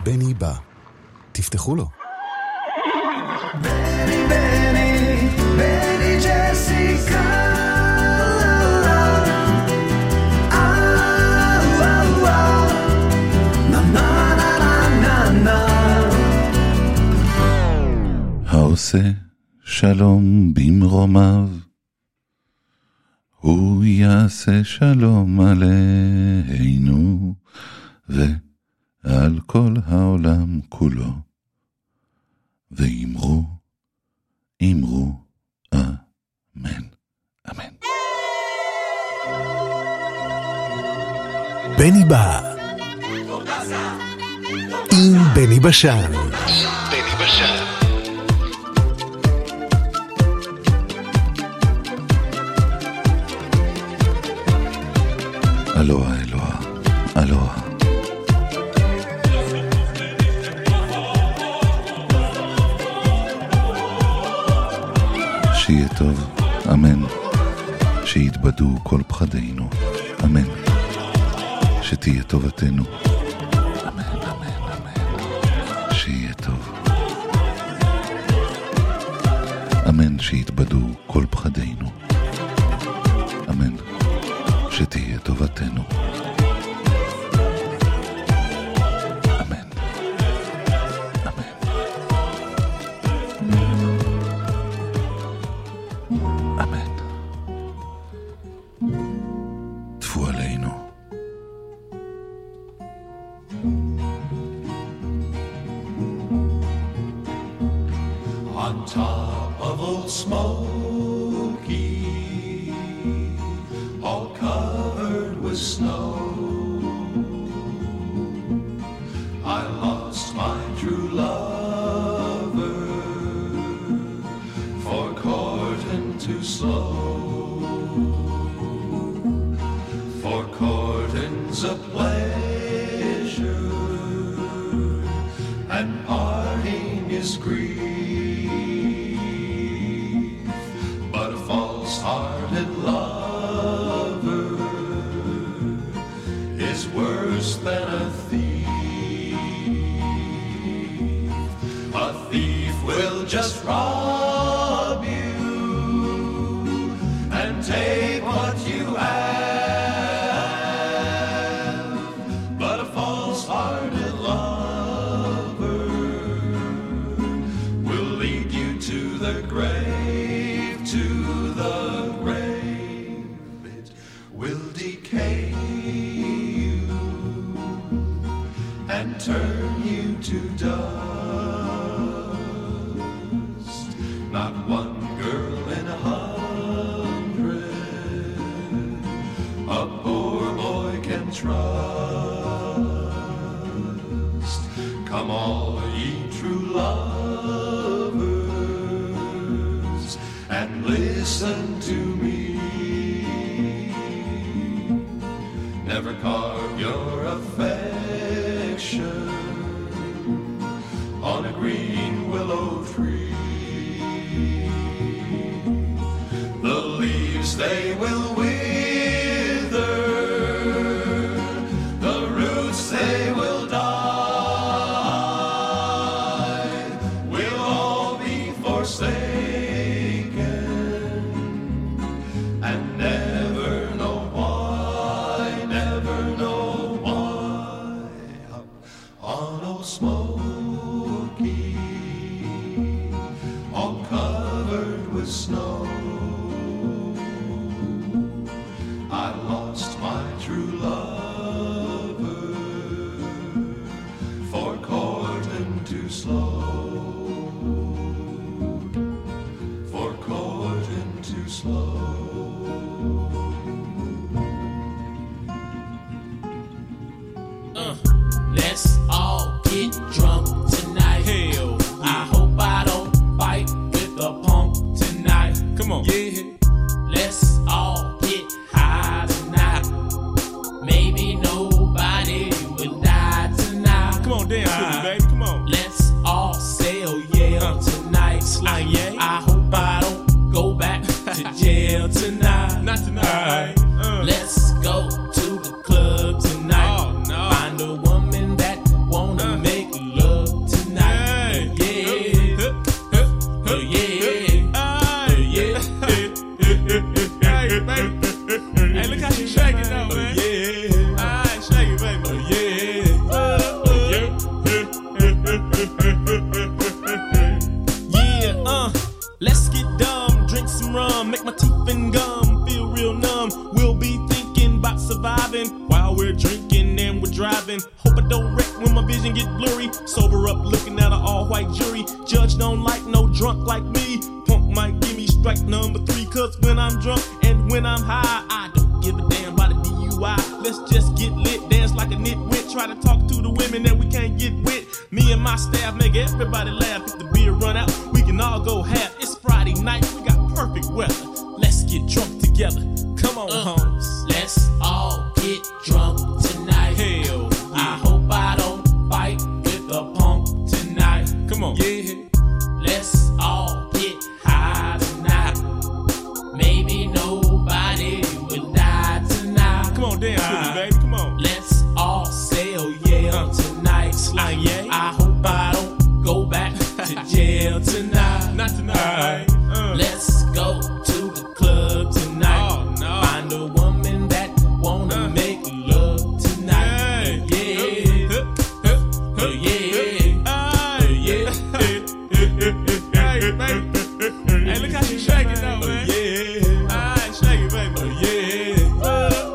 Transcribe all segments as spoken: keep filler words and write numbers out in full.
בני בא. תפתחו לו. בני, בני, בני ג'סיקה. העושה שלום במרומיו, הוא יעשה שלום עלינו ועל כל העולם כולו, ואמרו, אמרו, אמן, אמן. בני בא עם בני בשן. בני בשן. אלוהה, אלוהה, אלוהה. שיהיה טוב, אמן. שיתבדו כל פחדינו, אמן. שתהיה טובתנו, אמן, אמן, אמן. שיהיה טוב, אמן. שיתבדו כל פחדינו, אמן. שתהיה טובתנו, אמן, אמן, אמן. טפו עלינו. On top of Old Smoky, all covered with snow, I lost my true lover, for courting too slow. For courting's a pleasure, and parting is grief, but a false-hearted love is worse than a thief. A thief will just rob you and take what you have, but a false-hearted lover will lead you to the grave, to the grave. It will decay and turn you to dust. Not one girl in a hundred a poor boy can trust. Come all ye true lovers and listen to me. Never carve your affection on a green willow tree. The leaves they will wither, the roots they will die, we'll all be forsaken and never know why, never know why. Up on Old Smoky, all covered with snow, I lost my true lover, for courting too slow, for courting too slow. Uh, let's all get drunk tonight. Hell, yeah. I hope I don't fight with a punk tonight. Come on, yeah. Let's all get high tonight. Maybe nobody will die tonight. Come on, dance with me, baby. Come on. Let's all sail Yale uh, tonight. Slang, yeah. I hope I don't go back to jail tonight. Not tonight. Uh. Let's go to the club tonight. Oh, no. Find a woman that wanna uh. make rum, make my teeth and gum feel real numb. We'll be thinking about surviving while we're drinking and we're driving. Hope I don't wreck when my vision get blurry. Sober up looking at an all-white jury. Judge don't like no drunk like me. Punk might give me strike number three, cause when I'm drunk and when I'm high, I don't give a damn about a D U I. Let's just get lit, dance like a nitwit. Try to talk to the women that we can't get with. Me and my staff make everybody laugh. If the beer run out, we can all go half. It's Friday night, we got perfect weather. Let's get drunk together. Come on, uh, homes. Let's all get drunk tonight. Hell, yeah. I hope I don't fight with a punk tonight. Come on. Yeah. Let's all get high tonight. Maybe nobody will die tonight. Come on, dance with me, baby. Come on. Let's all sail, yeah, uh, tonight. Like, yeah. I hope I don't go back to jail tonight. Not tonight. Uh. Let's go to the club tonight. Oh, no. Find a woman that wanna uh. make love tonight. Yeah. Yeah. Uh, uh, yeah. Uh, yeah. Hey, baby. Hey, look how she shake it though, man. Uh, yeah. Alright, shake it, baby. Uh, yeah. Uh,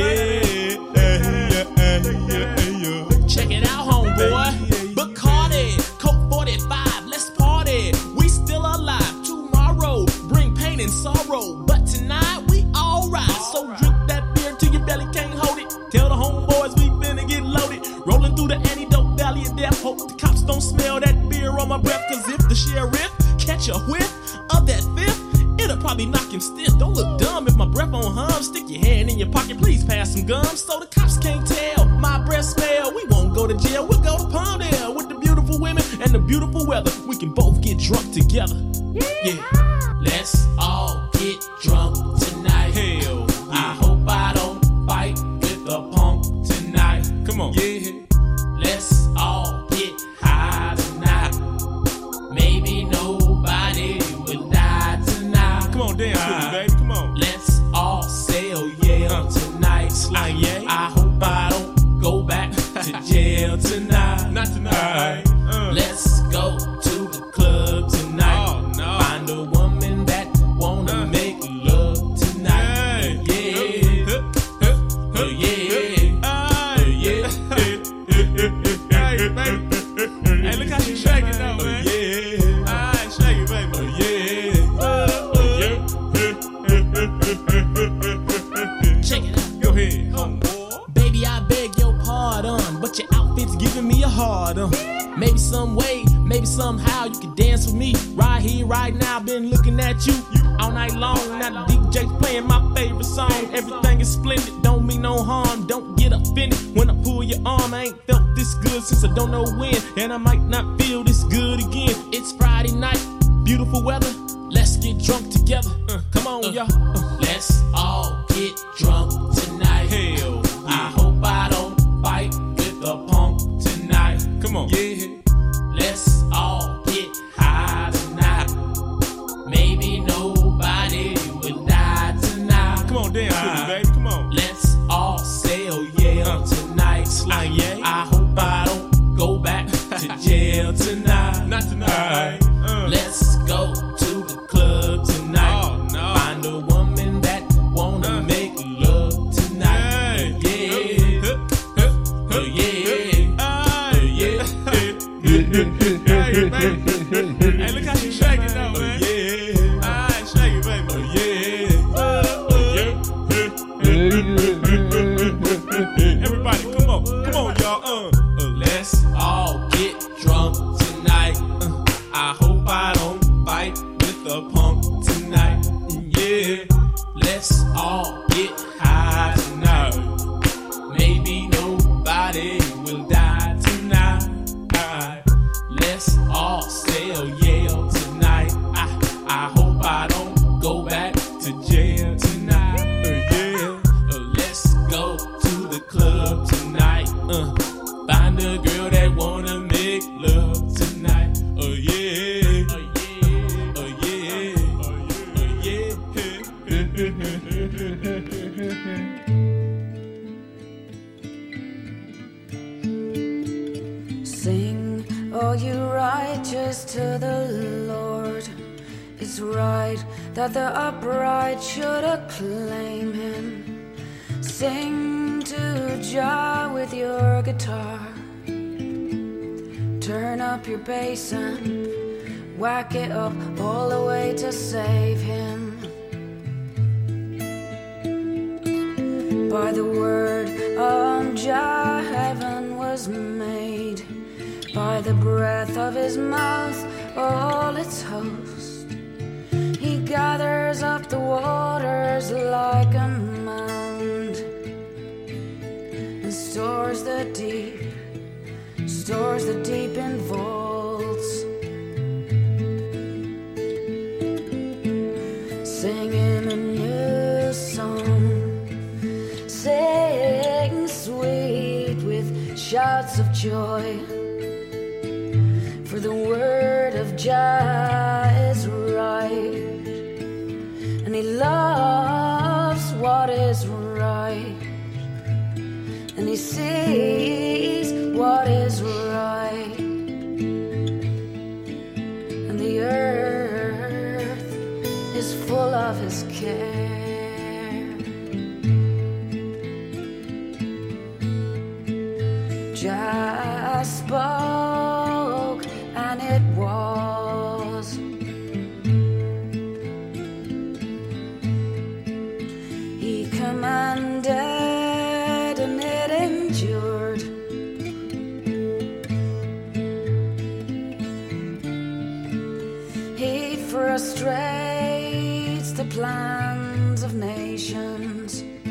yeah. Check it out, homeboy. Bacardi, Coke forty-five, let's party. We still alive. Tomorrow bring pain and sorrow, but tonight we alright. So drink that beer till your belly can't hold it. Tell the homeboys we finna get loaded. Rolling through the antidote valley of death. Hope the cops don't smell that beer on my breath. Cause if the sheriff catch a whiff of that fifth, it'll probably knock him stiff. Don't look dumb if my breath on hum. Stick your hand in your pocket, please pass some gum. So the cops can't tell my breath smell. We won't go to jail, we'll go to Palmdale. With the beautiful women and the beautiful weather, we can both get drunk together. Yeah. Let's all get drunk tonight. Hell, yeah. I hope I don't fight with a punk tonight. Come on. Yeah. Let's all get high tonight. Maybe nobody will die tonight. Come on, dance with me, baby. Come on. Let's all sail, yeah, uh, tonight. Like, yeah. I hope I don't go back to jail tonight. Not tonight. Uh. Let's go to the club tonight. Oh, no. Find a woman that wanna uh. make love tonight. Hey. Yeah. Uh, yeah. Uh, yeah. Hey, baby. Hey, look how she shake it though, man. Yeah. Alright, shake it, baby. Uh, yeah. Uh, uh. Check it out. Go ahead, homeboy. Baby, I beg your pardon, but your outfit's giving me a hard on. Maybe some way, maybe somehow you can dance with me. Right here, right now, been looking at you, you all night long. Now the D J's playing my favorite song. Everything is splendid, don't mean no harm. Don't get offended when I pull your arm. I ain't felt this good since I don't know when, and I might not feel this good again. It's Friday night, beautiful weather. Let's get drunk together. Uh, come on, uh, y'all. Uh. Let's all get drunk tonight. Hell, yeah. I hope I don't fight with a punk tonight. Come on. Yeah. Let's all get high tonight. Maybe nobody will die tonight. Come on, dance uh, with me, baby. Come on. Let's all sail, yeah, uh, tonight. Like, yeah. I hope I don't go back to jail tonight. Not tonight. Uh. Let's go to the club tonight. Oh, no. Find a woman that wanna uh. make love tonight. Hey. Yeah. Uh, uh, yeah. Uh, yeah. Hey, baby. Hey, look how she shake it though, man. Uh, yeah. Alright, shake it, baby. Uh, yeah. Uh, uh. Everybody, come on. Come on, y'all. Uh. Uh, let's all get drunk tonight. Uh, I hope I don't fight with a punk tonight. Yeah. Let's all get high tonight. Maybe nobody will die tonight. Let's all sail, yeah, tonight. I, I hope I don't go back to jail tonight. Uh, yeah. Uh, let's go to the club tonight. Uh, find a girl that wanna make love tonight. Oh yeah. Oh yeah. Oh yeah. Oh yeah. Sing, oh you righteous to the Lord. It's right that the upright should acclaim him. Sing to Jah with your guitar. Turn up your bass amp, whack it up all the way to save him. By the word of Jah, heaven was made. By the breath of his mouth, all its host. He gathers up the waters like a mound and stores the deep, stores the deep in vaults. Singing a new song, sing sweet with shouts of joy. For the word of Jah is right, and he loves what is right, and he sees what is right, and the earth is full of his care. Jah spoke, and it was. He commanded, and it endured. He frustrates the plans of nations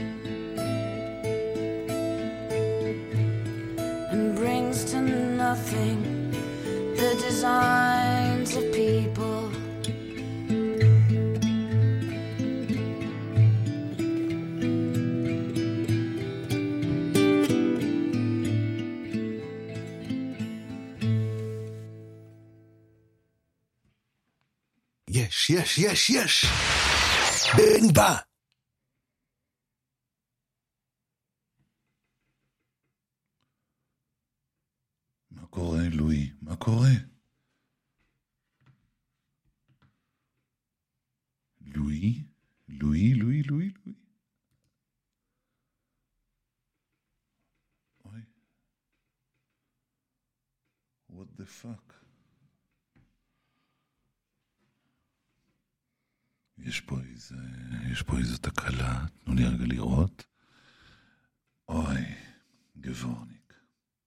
and brings to nothing the designs of people. יש, יש, יש, יש! בני בא! מה קורה, לואי? מה קורה? לואי? לואי, לואי, לואי, לואי. אוי. What the fuck? יש פה איזה, יש פה איזה תקלה, תנו לי רגע לראות. אוי, גבורניק.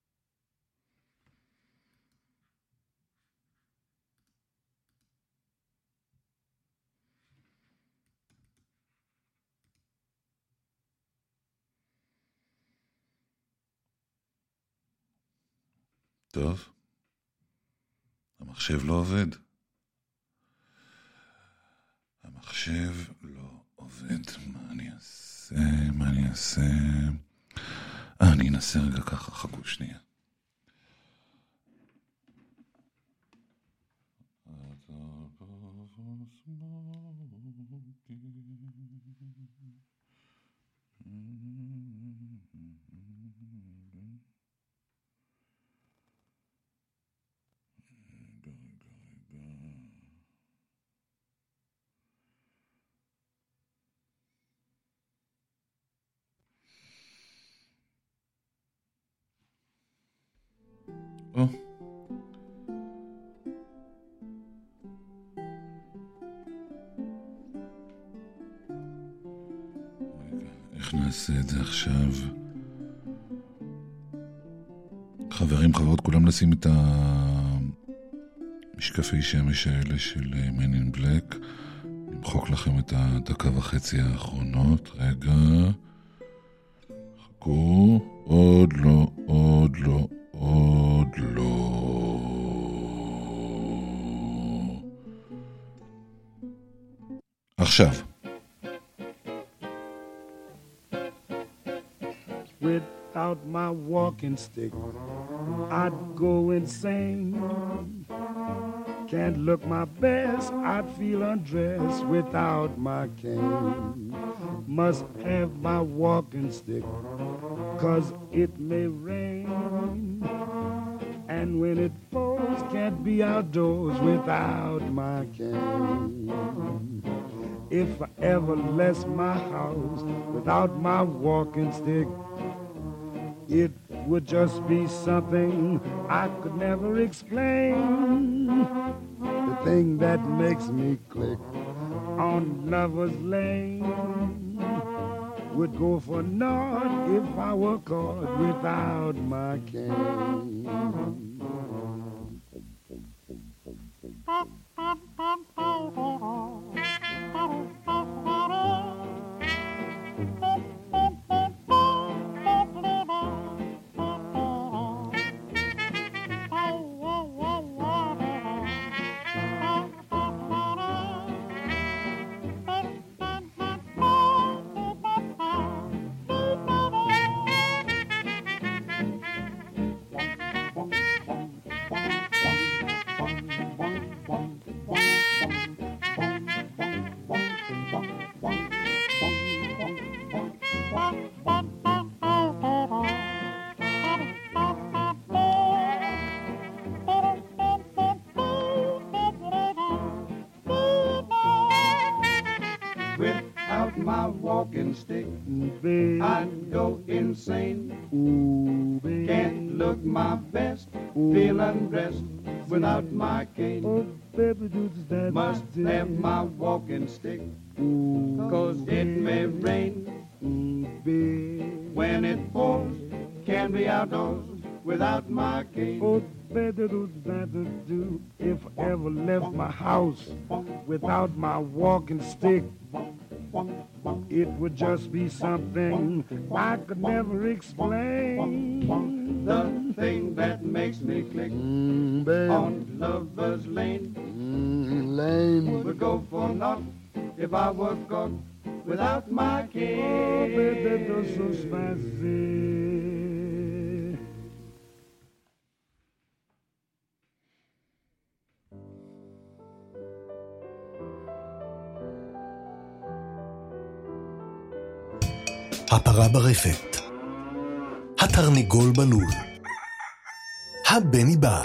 טוב, המחשב לא עובד. המחשב לא עובד. מה אני אעשה? מה אני אעשה? אה, אני אנסה רגע ככה, חכו שנייה. או. רגע, איך נעשה את זה עכשיו? חברים, חברות, כולם לשים את המשקפי שמש האלה של Man in Black. נמחוק לכם את הדקה וחצי האחרונות. רגע. חכו. עוד לא, עוד לא. עוד לא. עכשיו. Without my walking stick, I'd go insane. Can't look my best, I'd feel undressed without my cane. Must have my walking stick, 'cause it may rain. And when it pours, can't be outdoors without my cane. if I ever left my house without my walking stick. It would just be something I could never explain. The thing that makes me click on Lover's Lane would go for naught if I were caught without my cane. Without my walking stick, Babe. I'd go insane. Ooh, babe. Can't look my best, feel undressed without my cane. Oh, baby, do that. Must have my walking stick, Ooh, cause it may rain. mm, babe. When it pours, can't be outdoors without my cane. Oh, baby, do that do if I ever left my house without my walking stick. It would just be something I could never explain. The thing that makes me click Mm, babe. on Lover's Lane Mm, lane. would go for naught if I were caught without my Oh, cane. baby, that's so spicy. הפרה ברפת, התרנגול בלול, הבני בא.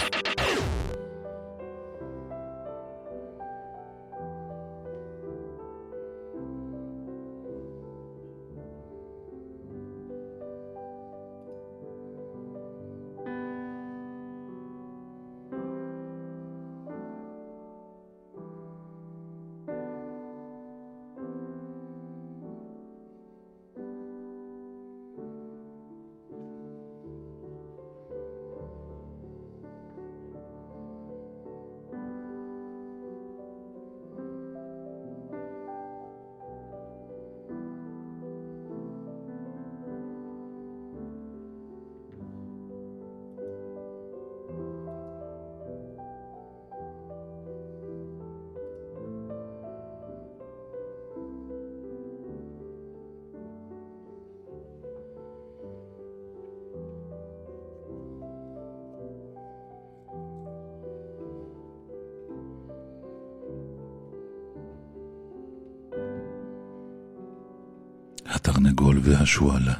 התרנגול והשועלה.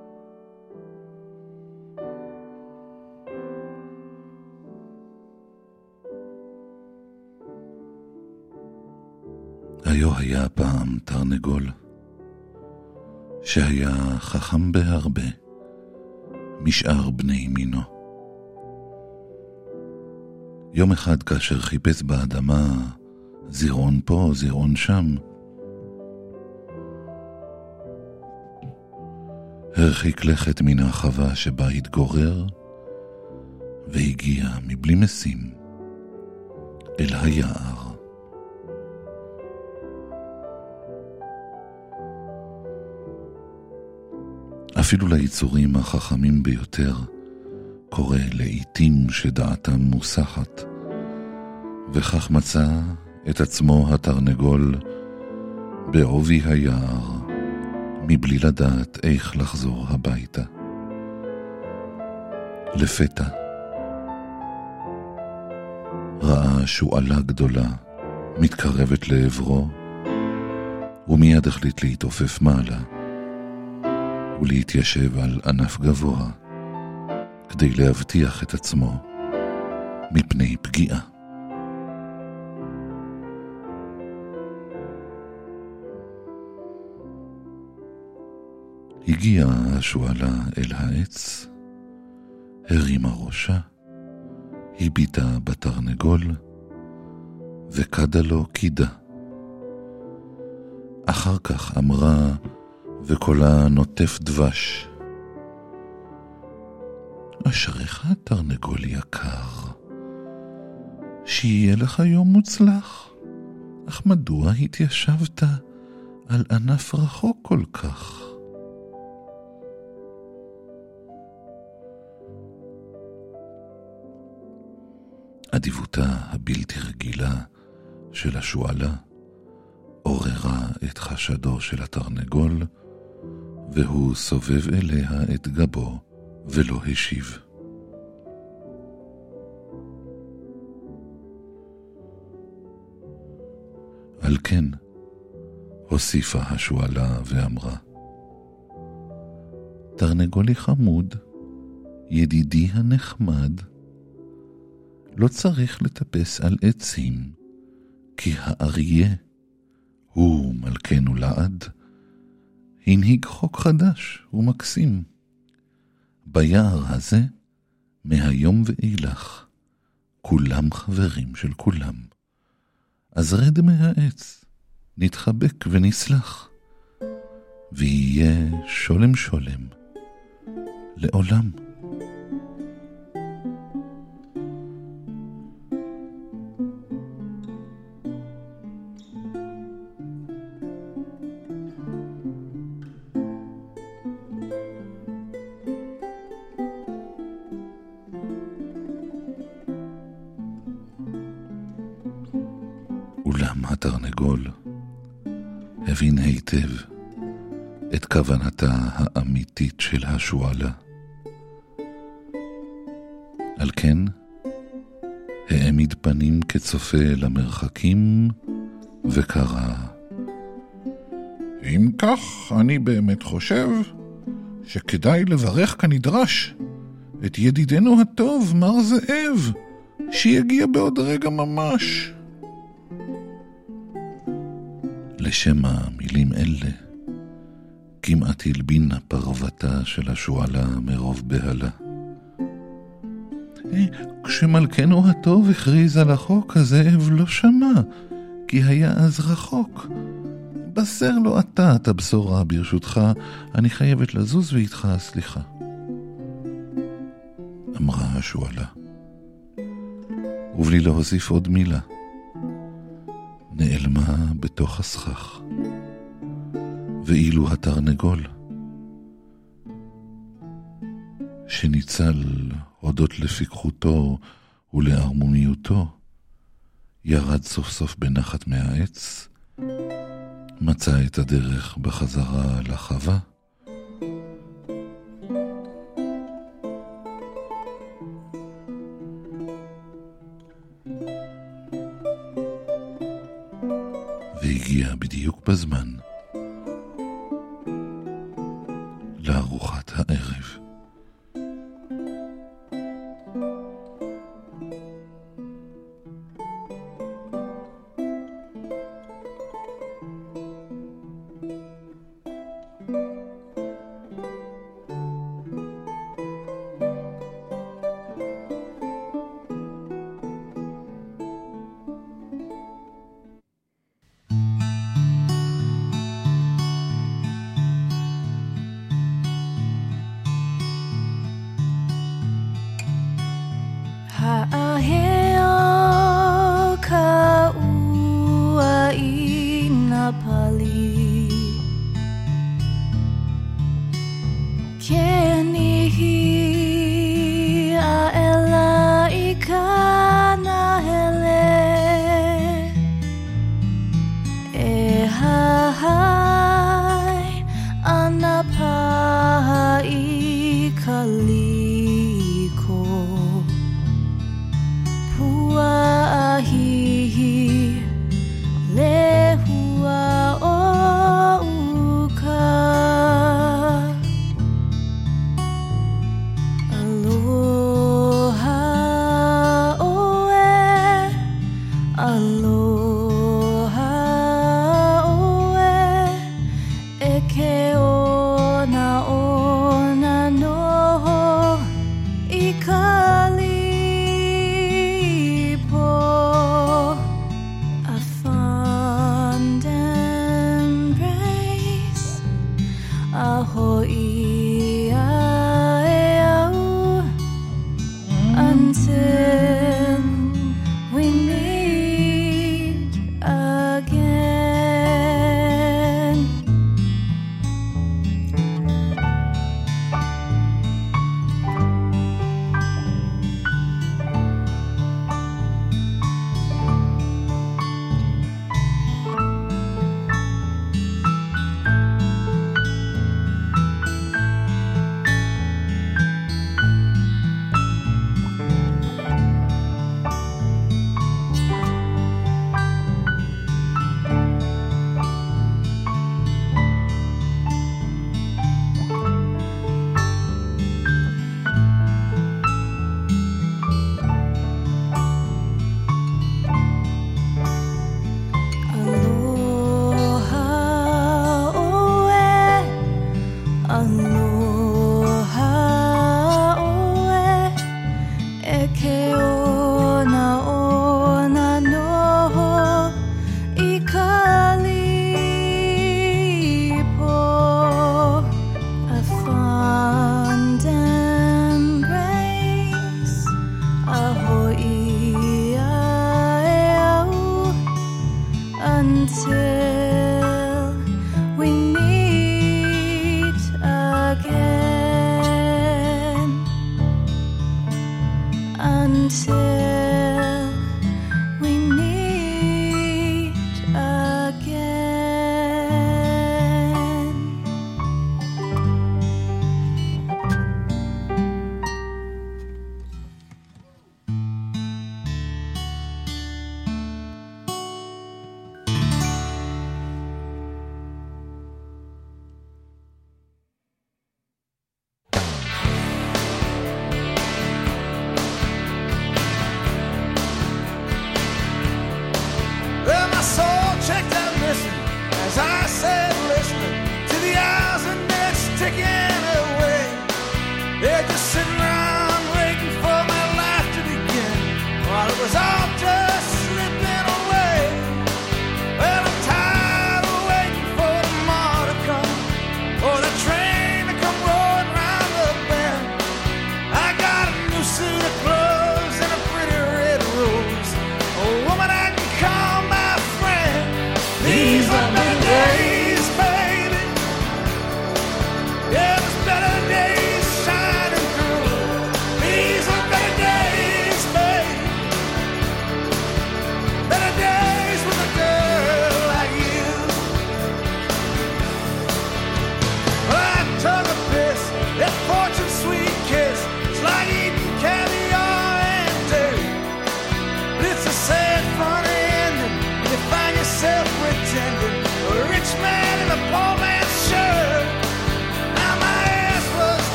היו היה פעם תרנגול שהיה חכם בהרבה משאר בני מינו. יום אחד כאשר חיפש באדמה זירעון פה זירעון שם, הרחיק לכת מן החווה שבה התגורר והגיע מבלי משים אל היער. אפילו ליצורים החכמים ביותר קורה לעתים שדעתם מוסחת, וכך מצא את עצמו התרנגול בעובי היער מבלי לדעת איך לחזור הביתה. לפתע ראה שועלה גדולה מתקרבת לעברו, ומיד החליט להתעופף מעלה ולהתיישב על ענף גבוה כדי להבטיח את עצמו מפני פגיעה. הגיעה השואלה אל העץ, הרימה ראשה, הביטה בתרנגול, וקדה לו קידה. אחר כך אמרה, וקולה נוטף דבש, אשריך תרנגול יקר, שיהיה לך יום מוצלח, אך מדוע התיישבת על ענף רחוק כל כך? אדיבותה הבלתי רגילה של השואלה עוררה את חשדו של התרנגול, והוא סובב אליה את גבו ולא השיב. על כן הוסיפה השואלה ואמרה, תרנגולי חמוד, ידידי הנחמד, לא צריך לטפס על עצים, כי האריה הוא מלכנו לעד, הנהיג חוק חדש ומקסים. ביער הזה, מהיום ואילך, כולם חברים של כולם. אז רד מהעץ, נתחבק ונסלח, ויהיה שולם שולם, לעולם. אולם התרנגול הבין היטב את כוונתה האמיתית של השואלה. על כן העמיד פנים כצופה למרחקים וקרא, אם כך אני באמת חושב שכדאי לברך כנדרש את ידידנו הטוב מר זאב, שיגיע בעוד רגע ממש. לשם המילים אלה כמעט הלבינה פרוותה של השואלה מרוב בהלה. כשמלכנו הטוב הכריז על החוק, הזאב לא שמע, כי היה אז רחוק. בסר לו אתה את הבשורה, ברשותך, אני חייבת לזוז ואיתך סליחה. אמרה השואלה, ובלי להוסיף עוד מילה, נעלמה בתוך הסכך. ואילו התרנגול, שניצל הודות לפיקחותו ולערמומיותו, ירד סוף סוף בנחת מהעץ, מצא את הדרך בחזרה לחווה, והגיע בדיוק בזמן לארוחת הערב.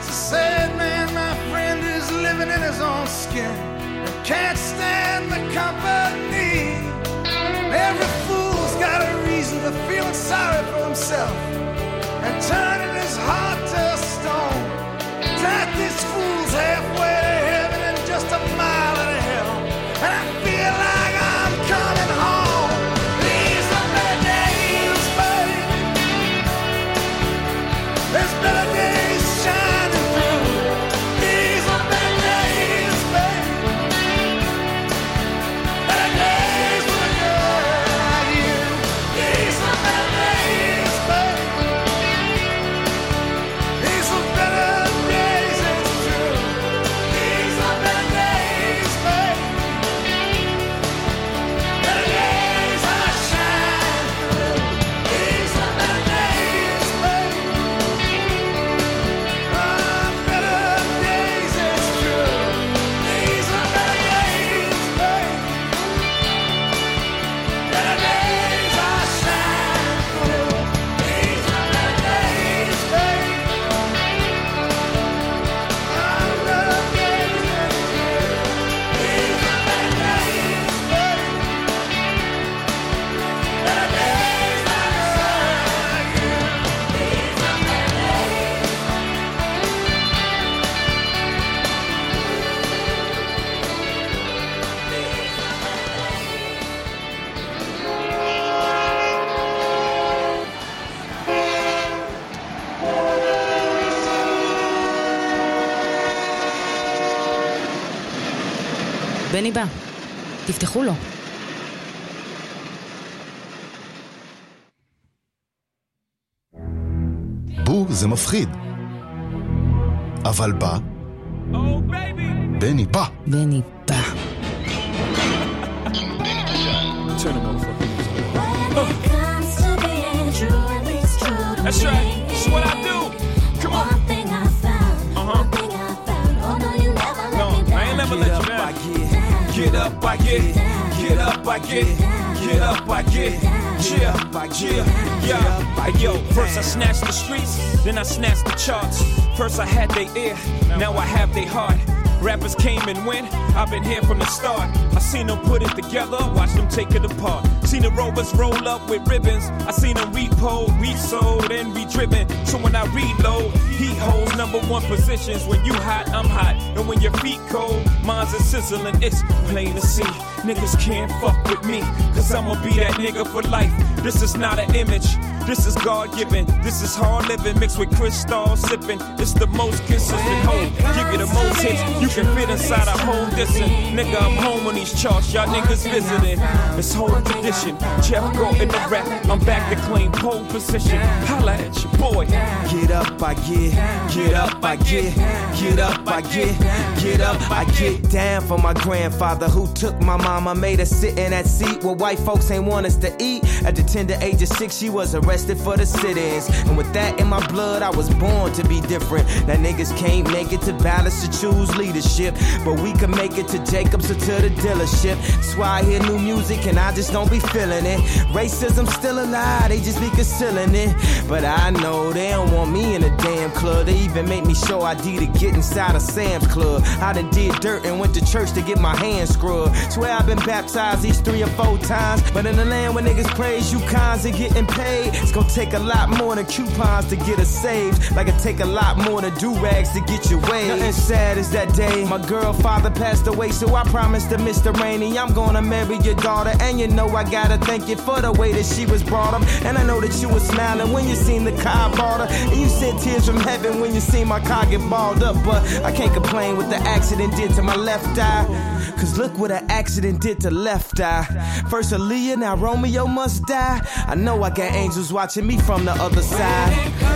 It's a sad man, my friend, who's living in his own skin and can't stand the company. Every fool's got a reason for feeling sorry for himself and turning his heart to stone. Drag these fools halfway to heaven and just a mile to hell, and I feel like I'm coming home. These are better days, baby. There's better days shining through. These are better days, baby. Better days with a girl like you. These are better days, baby. These are better days, it's true. These are better days, baby. Better days I shine through. These are better days, baby. Ah, better days, it's true. These are better days, baby. Better days I shine through. These are better days, baby. Ah, better days, it's true. These are better days, baby. Better days I shine through. These are better days. בני בא, תפתחו לו. בו זה מפחיד. אבל בא, בני בא. בני בא. That's right. That's what I do. Come on. Uh-huh. No, I ain't never let you down. Get up, I get. Get up, I get. Get up, I get. Yeah, yeah, yeah. Yo, first I snatched the streets, then I snatched the charts. First I had their ear, now I have their heart. Rappers came and went, I've been here from the start. I seen them put it together, watch them take it apart. Seen the rovers roll up with ribbons. I seen them repo, resold, and re-driven. So when I reload, heat holds number one positions. When you hot, I'm hot. And when your feet cold, mine's a sizzling. It's plain to see. Niggas can't fuck with me, cause I'ma be that nigga for life. This is not an image, this is God-given. This is hard living mixed with crystal sipping. It's the most consistent home. Give you the most hits, you can fit inside a whole distance. Nigga, I'm home on these charts, y'all niggas visiting. It's whole tradition, Jeff go in the rap. I'm back to claim pole position. Holla at your boy. Get up, I get, get up, I get, get up, I get, get up, I get down for my grandfather who took my mama, made her sit in that seat where white folks ain't want us to eat. At the tender age of six, she was arrested for the sit-ins. And with that in my blood, I was born to be different. Now niggas can't make it to balance to choose leadership, but we can make it to Jacobs or to the dealership. That's why I hear new music and I just don't be feeling it. Racism still alive, they just be concealing it. But I know they don't want me in a damn club. They even make me show I D to get inside a Sam's Club. I done did dirt and went to church to get my hands scrubbed. Swear I've been baptized these three or four times. But in the land where niggas praise you cons and getting paid, it's gonna take a lot more than coupons to get us saved. Like it take a lot more than do-rags to get your way. Nothing sad as that day my girl father passed away, so I promised to Mister Rainey I'm gonna marry your daughter. And you know I gotta thank you for the way that she was brought up. And I know that you were smiling when you seen the car bought her, and you said tears from heaven when you seen my car get balled up. But I can't complain what the accident did to my left eye, cause look what an accident did to left eye. First Aaliyah, now Romeo must die. I know I got angels watching me from the other side.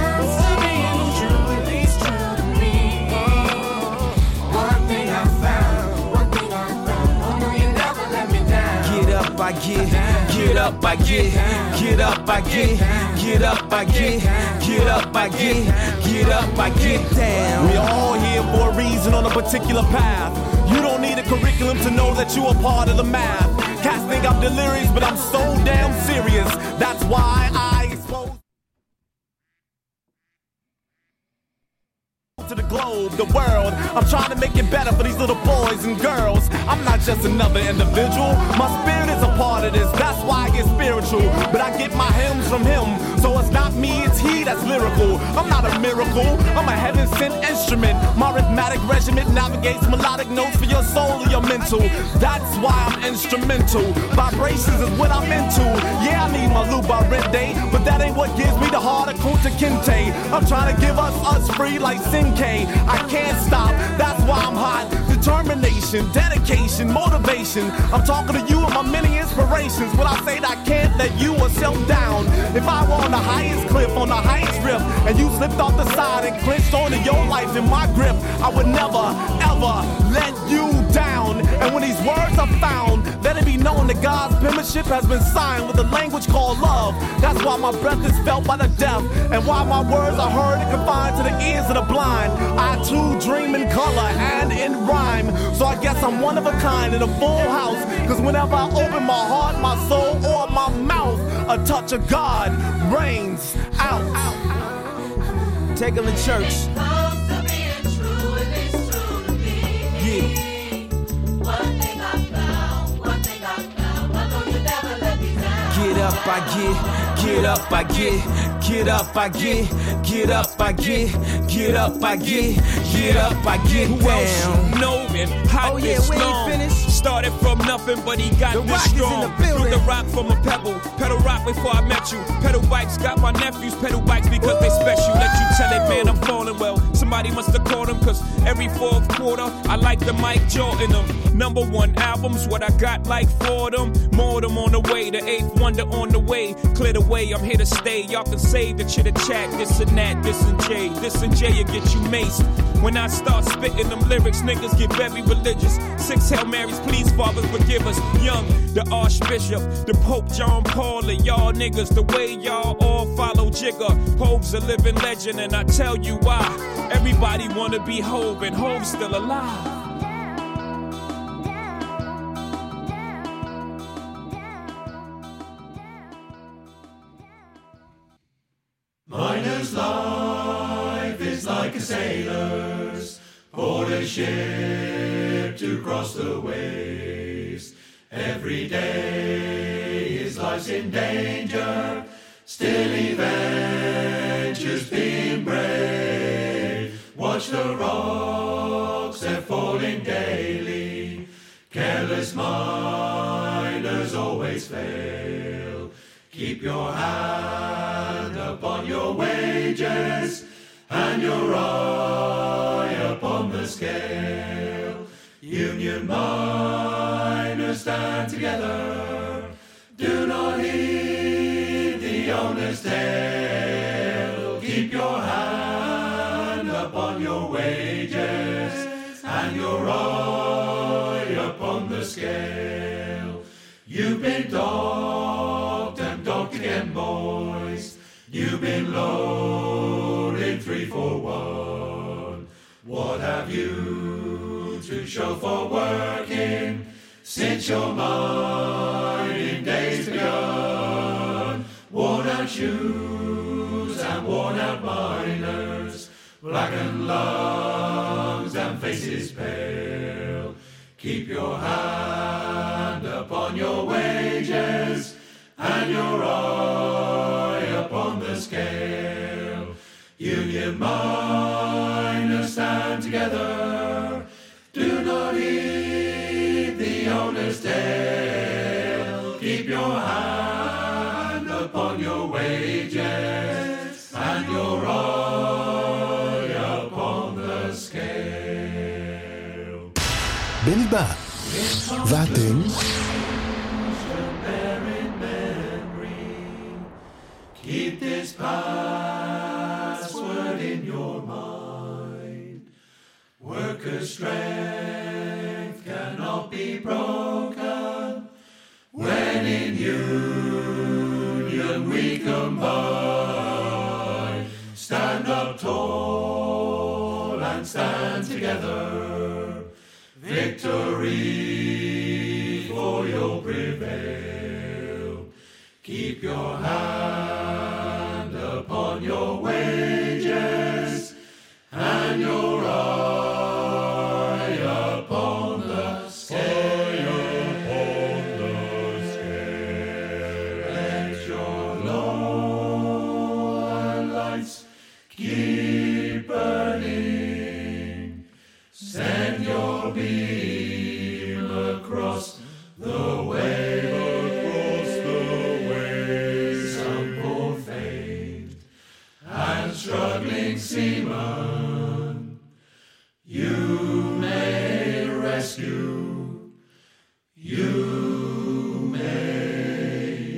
I get, get up, I get, get up, I get, get up, I get, get up, I get, get up, I get down. We are all here for a reason on a particular path. You don't need a curriculum to know that you are part of the math. Cats think I'm delirious, but I'm so damn serious. That's why I expose to the globe, the world. I'm trying to make it better for these little boys and girls. I'm not just another individual. My spirit is a part of this. That's why I get spiritual. But I get my hymns from him. So it's not me, it's he that's lyrical. I'm not a miracle. I'm a heaven-sent instrument. My rhythmic regiment navigates melodic notes for your soul or your mental. That's why I'm instrumental. Vibrations is what I'm into. Yeah, I need my Luba Rende, but that ain't what gives me the heart of Kunta Kinte. I'm trying to give us us free like Sinke. I can't stop, that's why I'm hot. Determination, dedication, motivation. I'm talking to you and my many inspirations. When I say that I can't let you or self down. If I were on the highest cliff, on the highest rift, and you slipped off the side and clinched onto your life in my grip, I would never, ever let you down. And when these words are found, let it be known that God's penmanship has been signed with a language called love. That's why my breath is felt by the deaf, and why my words are heard and confined to the ears of the blind. I too dream in color and in rhyme, so I guess I'm one of a kind in a full house. Cause whenever I open my heart, my soul, or my mouth, a touch of God rains out. Take them to church. Get up, I get, get up, I get, get up, I get, get up, I get, get up, I get, get up, I get Who down. else know him? Hot Oh, yeah, this we ain't long. finished. Started from nothing, but he got The this Rock is in strong. the building. Threw the rock from a pebble. Pedal rock before I met you. Pedal bikes got my nephews. Pedal bikes because they special. Let you tell it, man, I'm falling well. Somebody must have called him, cause every fourth quarter, I like the Mike Jordan them. Number one albums, what I got like for them. More them on the way, the eighth wonder on the way. Clear the way, I'm here to stay. Y'all can save the chitter chat, this and that, this and Jay. This and Jay will get you maced. When I start spitting them lyrics, niggas get very religious. Six Hail Marys, please, Father, forgive us. Young, the Archbishop, the Pope John Paul, and y'all niggas, the way y'all all follow Jigga. Hove's a living legend, and I tell you why. Everybody wanna be Hove, and Hove's still alive. Miner's life is like a sailor's, for a ship to cross the waves. Every day his life's in danger, still he ventures being brave. Watch the rocks, they're falling daily. Careless miners always fail. Keep your hand upon your wages and your eye upon the scale. Union miners stand together. Do not heed the owner's tale. Keep your hand upon your wages and your eye upon the scale. You've been docked and docked again, boys. You've been loaded three for one. What have you to show for working since your mining days begun? Worn out shoes and worn out miners, blackened lungs and faces pale. Keep your hand upon your wages and your eye upon the scale. Union miners stand together. Do not heed the owner's tale. Keep your hand upon your wages and your eye upon the scale. בני בא, ואתם? Keep this password in your mind. Workers' strength cannot be broken. When in union we combine. Stand up tall and stand together. Victory for you'll prevail. Keep your hand upon your wages and your beam across the wave, across the wave. Some poor fate and struggling seaman you may rescue, you may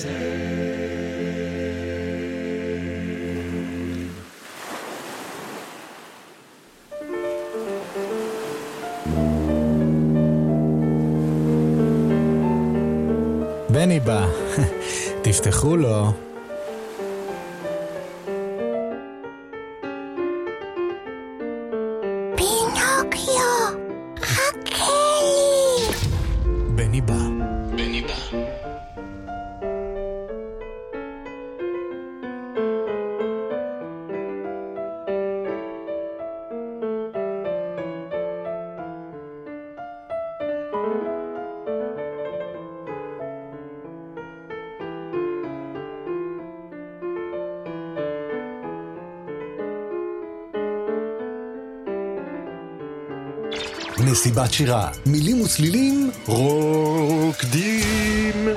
save. בני בא, תפתחו לו. בני בא. בני בא. מסיבת שירה, מילים וצלילים, רוקדים.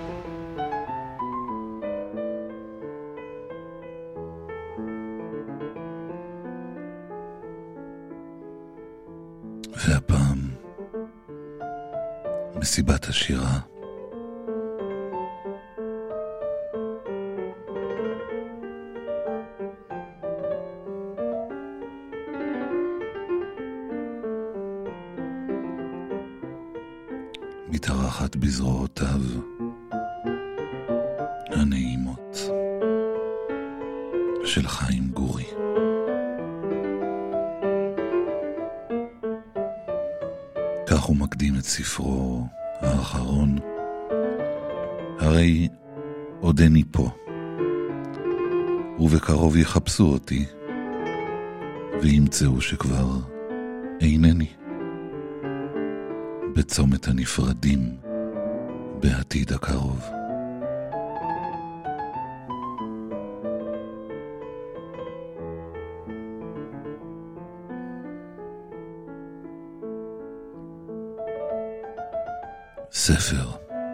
והפעם, מסיבת השירה. מתארחת בזרועותיו הנעימות של חיים גורי. כך הוא מקדים את ספרו האחרון, הרי עודני פה, ובקרוב יחפשו אותי, וימצאו שכבר אינני. בצומת הנפרדים בעתיד הקרוב. ספר.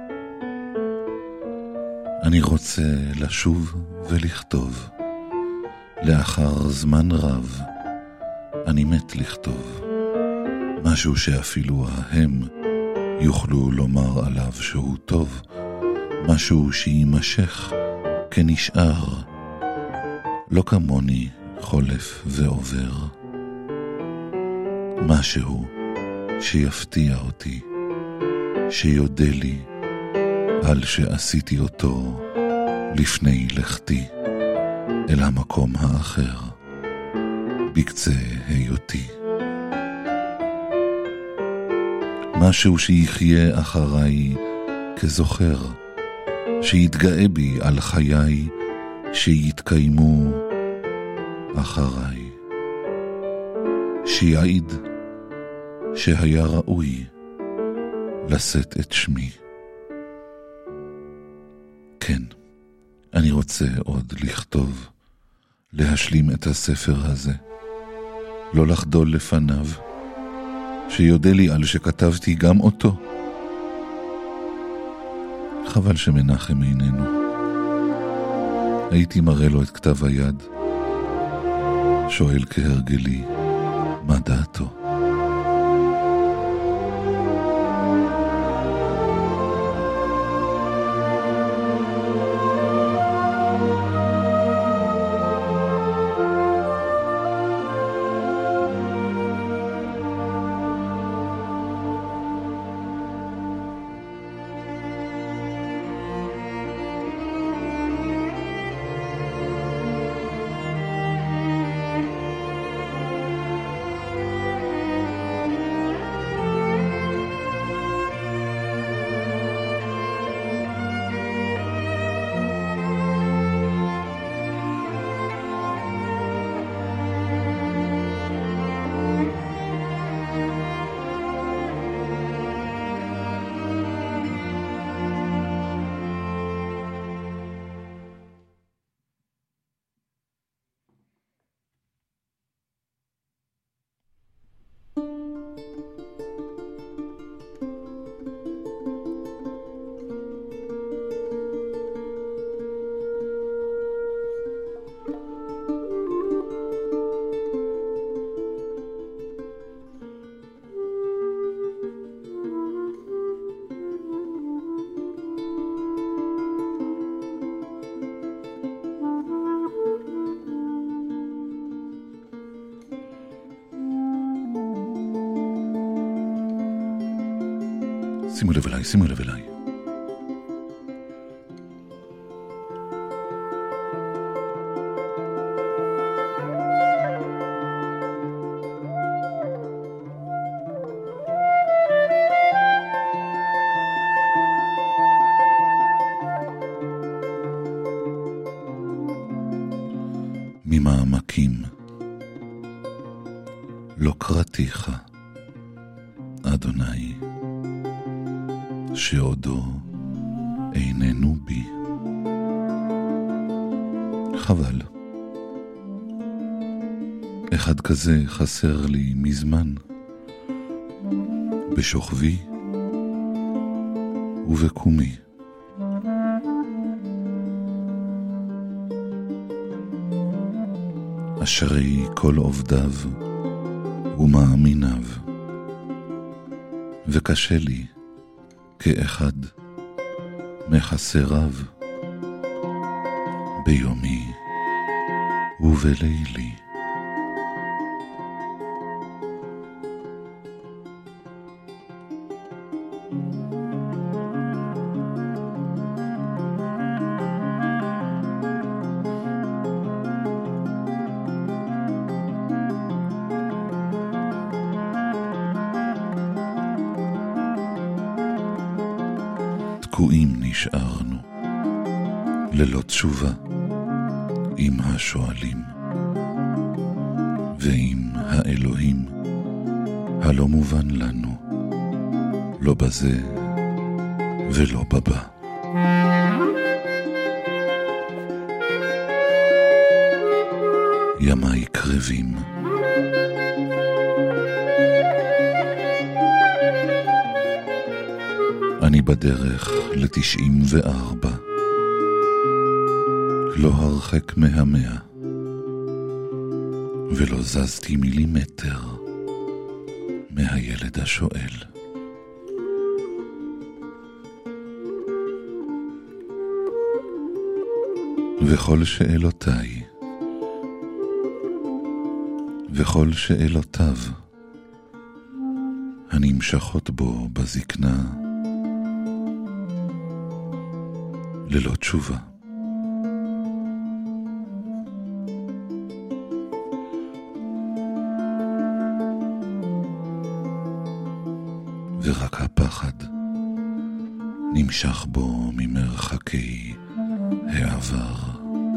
אני רוצה לשוב ולכתוב. לאחר זמן רב אני מת לכתוב. משהו שאפילו ההם יוכלו לומר עליו שהוא טוב, משהו שימשך כנשאר, לא כמוני חולף ועובר. משהו שיפתיע אותי, שיודה לי על שעשיתי אותו לפני לכתי אל המקום האחר, בקצה היותי. משהו שיחיה אחריי כזוכר, שיתגאה בי על חיי שיתקיימו אחריי, שיעיד שהיה ראוי לשאת את שמי. כן, אני רוצה עוד לכתוב, להשלים את הספר הזה, לא לחדול לפניו, שיודע לי על שכתבתי גם אותו. חבל שמנחם איננו. הייתי מראה לו את כתב היד, שואל כהרגלי, מה דעתו? שימו לב אליי, שימו לב אליי. ממעמקים לא קראתיך, אדוני, שעודו איננו בי. חבל. אחד כזה חסר לי מזמן, בשוכבי ובקומי. אשרי כל עובדיו ומאמיניו, וקשה לי כאחד מחסריו ביומי ובלילי. תקועים נשארנו ללא תשובה עם השואלים ועם האלוהים הלא מובן לנו, לא בזה ולא בבא. ימי קרבים, אני בדרך לתשעים וארבע, לא הרחק מהמאה, ולא זזתי מילימטר מהילד השואל. וכל שאלותיי, וכל שאלותיו, הנמשכות בו בזקנה, ללא תשובה. ורק הפחד נמשך בו ממרחקי העבר.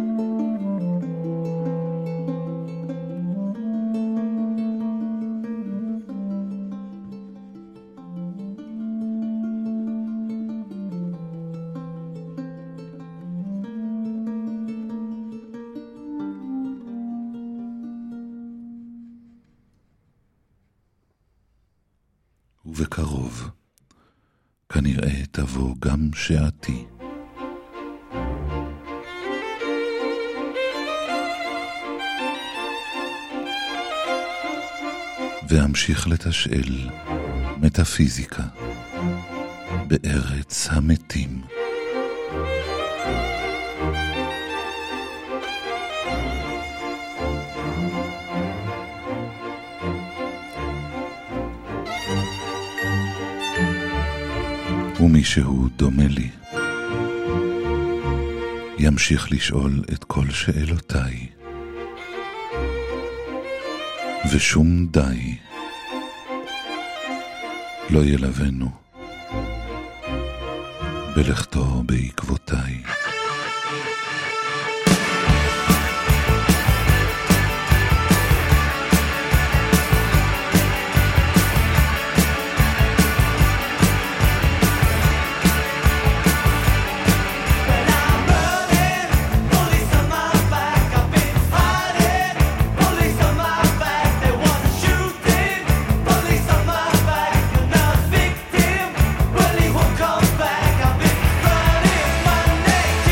ובקרוב כנראה תבוא גם שעתי. ואמשיך לתשאל מטאפיזיקה בארץ המתים. ומישהו דומה לי ימשיך לשאול את כל שאלותיי, ושום די לא ילבנו בלכתו בעקבותיי. Well, he won't come back. I've been running my name.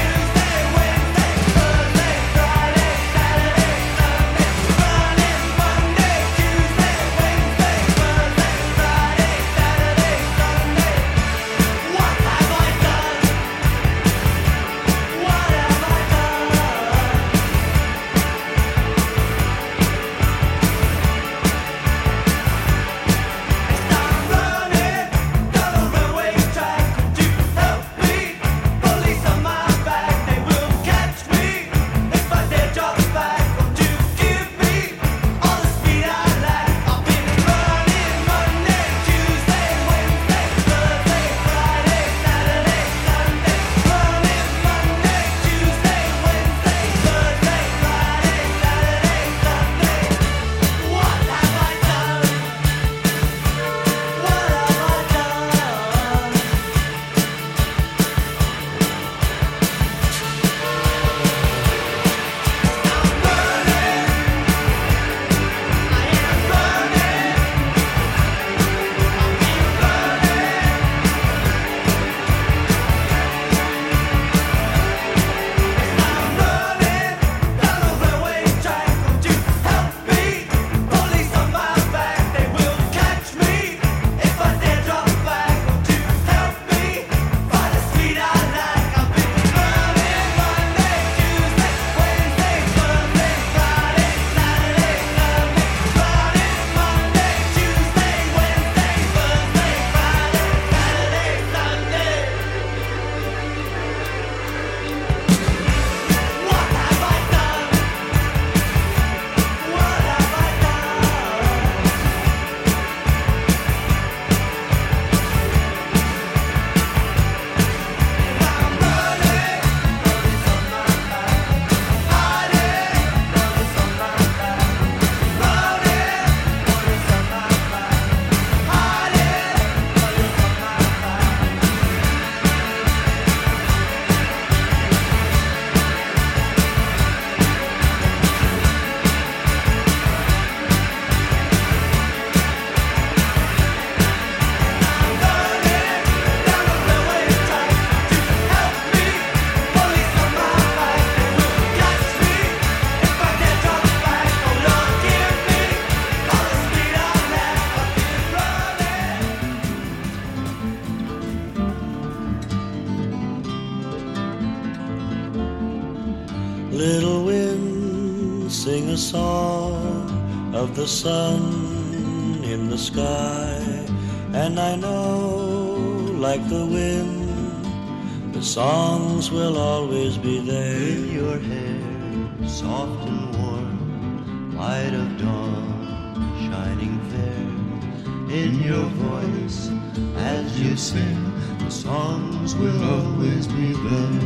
a song of the sun in the sky, and I know, like the wind, the songs will always be there. In your hair, soft and warm, light of dawn, shining fair. In your voice, as you sing, the songs will always be there.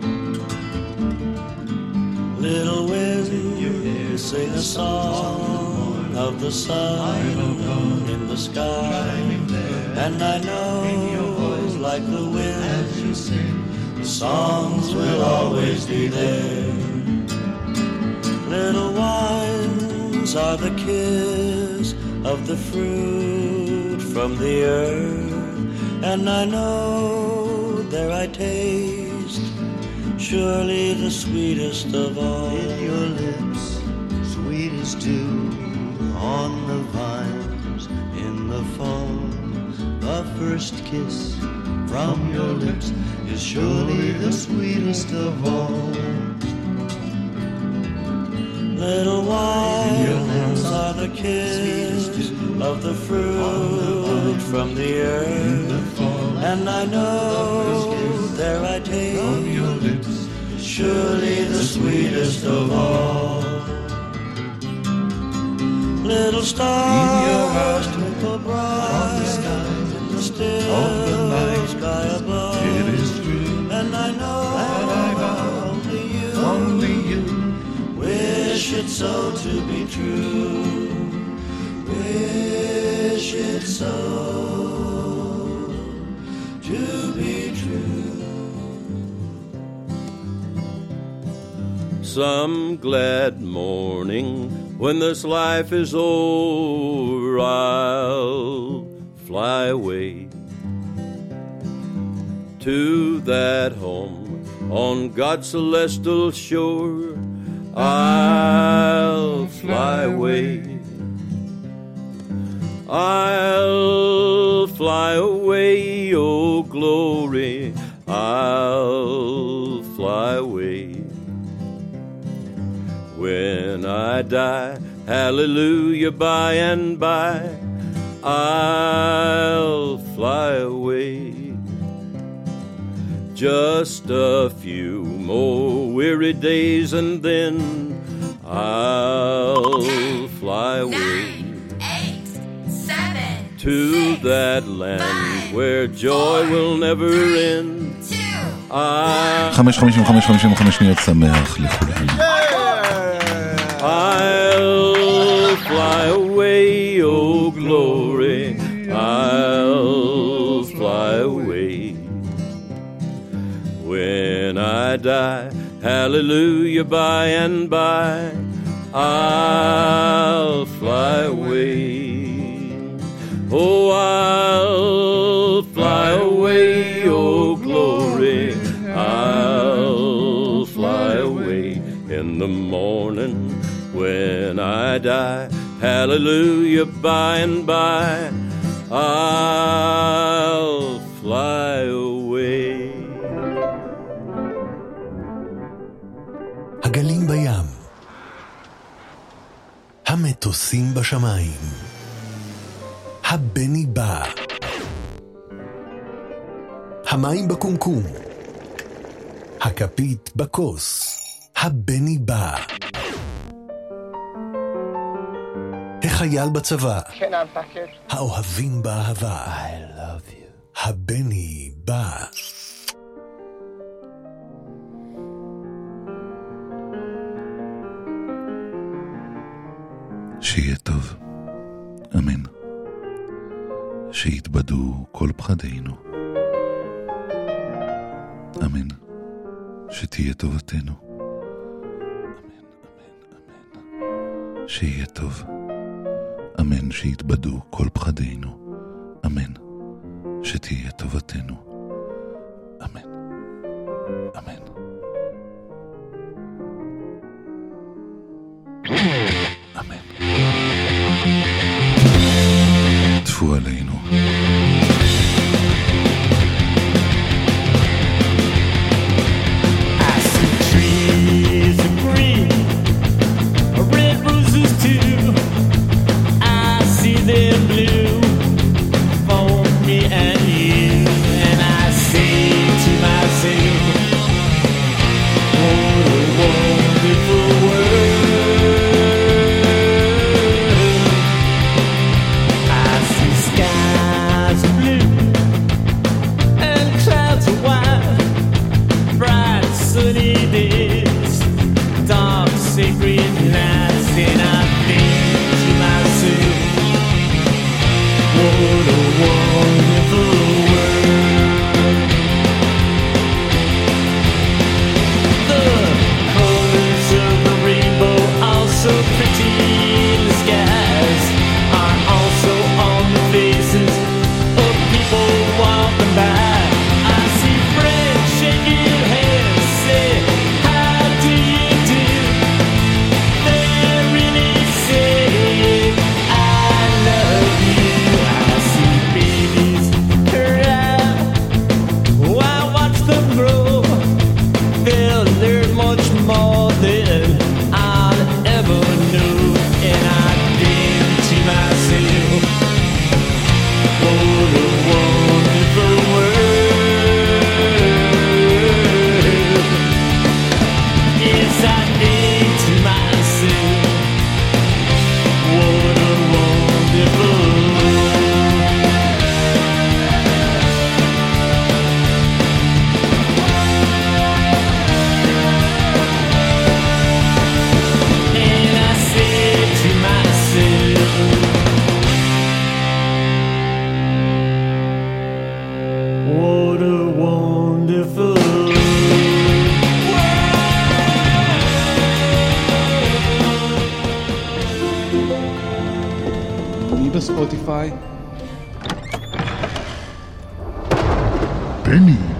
Little wind, sing a song of the sun in the sky, and I know, like the wind, as you sing, the songs will always be there. Little wines are the kiss of the fruit from the earth, and I know there I taste surely the sweetest of all. In your lips, sweet as dew on the vines in the fall. The first kiss from your lips is surely the sweetest of all. Little wines are the kiss of the fruit from the earth, and I know there I taste surely the sweetest of all. Little stars twinkle bright in the still sky above, it is true, and I know only you, only you wish it so to be true, wish it so to be true. Some glad morning when this life is over, I'll fly away to that home on God's celestial shore. I'll fly away, I'll fly away, oh glory, I'll fly away. When I die, hallelujah, by and by, I'll fly away. Just a few more weary days and then I'll fly away. Nine, eight, seven, to six, that land five, where joy four, will never three, end. two, I... חמש חמישים וחמש חמישים וחמש שניות שמח לכולם. I'll fly away, oh glory, I'll fly away. When I die, hallelujah, by and by, I'll fly away. Oh, I'll fly away, oh glory, I'll fly away. In the morning when I die, hallelujah, by and by, I'll fly away. הגלים בים, המטוסים בשמיים, הבני בא, המים בקומקום, הכפית בכוס, הבני בא, החייל בצבא, האוהבים באהבה, I love you, הבני בא. שיהיה טוב, אמן. שיתבדו כל פחדינו, אמן. שתהיה טובתנו, אמן, אמן, אמן. שיהיה טוב, אמן. שיתבדו כל פחדינו, אמן. שתהיה טובתנו, אמן, אמן. אמן. טפו עלינו. I see trees of green, red they're blue for me and you. And I say to myself, what a wonderful world. I see skies of blue and clouds of white, bright sunny days, dark sacred nights, and I think to myself, what a wonderful world. The colors of the rainbow are so pretty in the skies, are also on the faces of people walking by. I see friends shaking hands, say, how do you do? They really say, I love you. I see babies cry while I watch them grow. They'll learn much more than I'll ever know. And I think to myself, what a wonderful world. Yes, I think to myself, what a wonderful world. And I say to myself, what a wonderful אני בספוטיפיי. בני